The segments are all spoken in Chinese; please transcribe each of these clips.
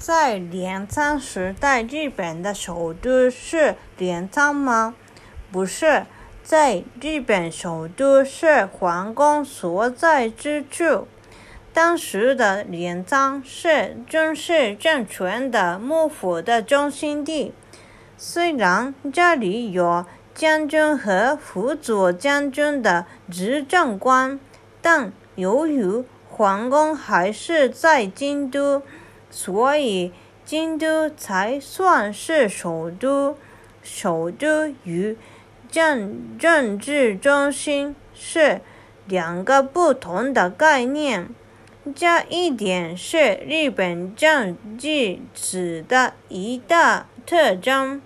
在镰仓时代，日本的首都是镰仓吗？不是，在日本首都是皇宫所在之处。当时的镰仓是军事政权的幕府的中心地，虽然这里有将军和辅佐将军的执政官，但由于皇宫还是在京都，所以京都才算是首都。首都与政治中心是两个不同的概念，这一点是日本政治史的一大特征。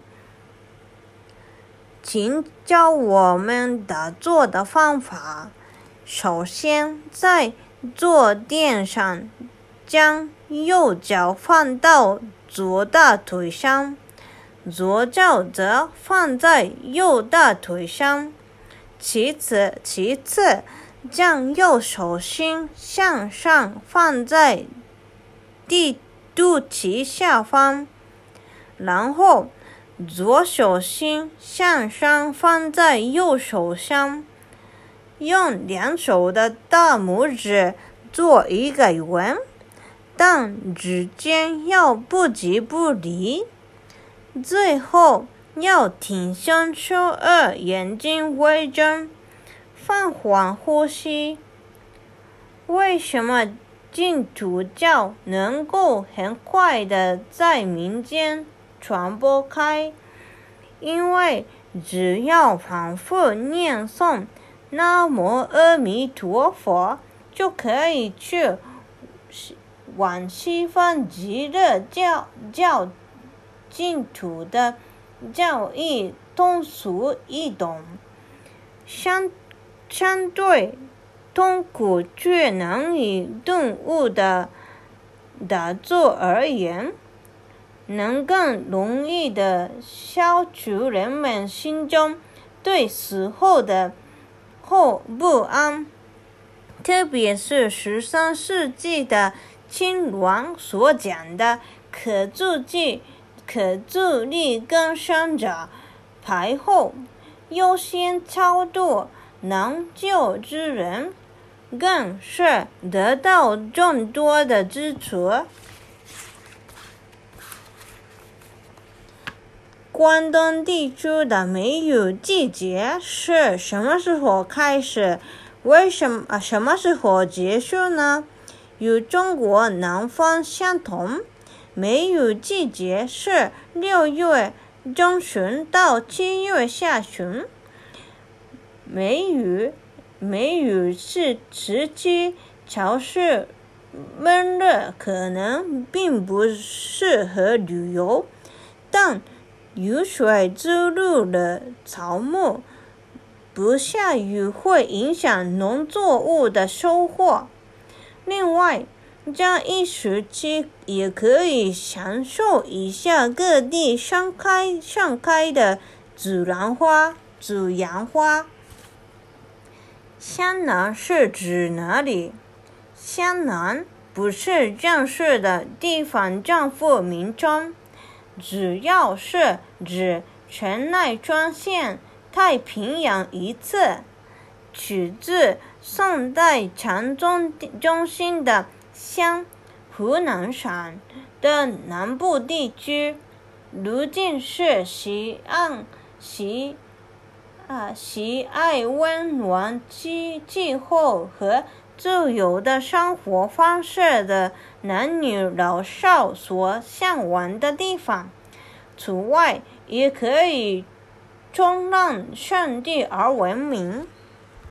请教我们打坐的方法。首先，在坐垫上将右脚放到左大腿上，左脚则放在右大腿上。其次，将右手心向上放在肚脐下方，然后左手心向上放在右手上，用两手的大拇指做一个圆，但指尖要不急不离。最后要挺胸收耳，眼睛微睁，放缓呼吸。为什么净土教能够很快地在民间传播开？因为只要反复念诵南无阿弥陀佛，就可以去往西方极乐教净土的教义通俗易懂，相对痛苦却难以顿悟的打坐而言，能更容易地消除人们心中对死后不安。特别是13世纪的亲鸾所讲的可助力更生者，排后优先超度难救之人，更是得到众多的支持。关东地区的梅雨季节是什么时候开始？什么时候结束呢？与中国南方相同，梅雨季节是6月中旬到7月下旬。梅雨是时期潮湿闷热，可能并不适合旅游，但雨水滋入了草木，不下雨会影响农作物的收获。另外，这一时期也可以享受一下各地盛开的紫阳花。湘南是指哪里？湘南不是正式的地方政府名称，主要是指城内出现太平洋一侧，取自宋代禅宗中心的湘湖南省的南部地区，如今是喜爱温暖气候和自由的生活方式的男女老少所向往的地方。此外，也可以冲浪圣地而闻名。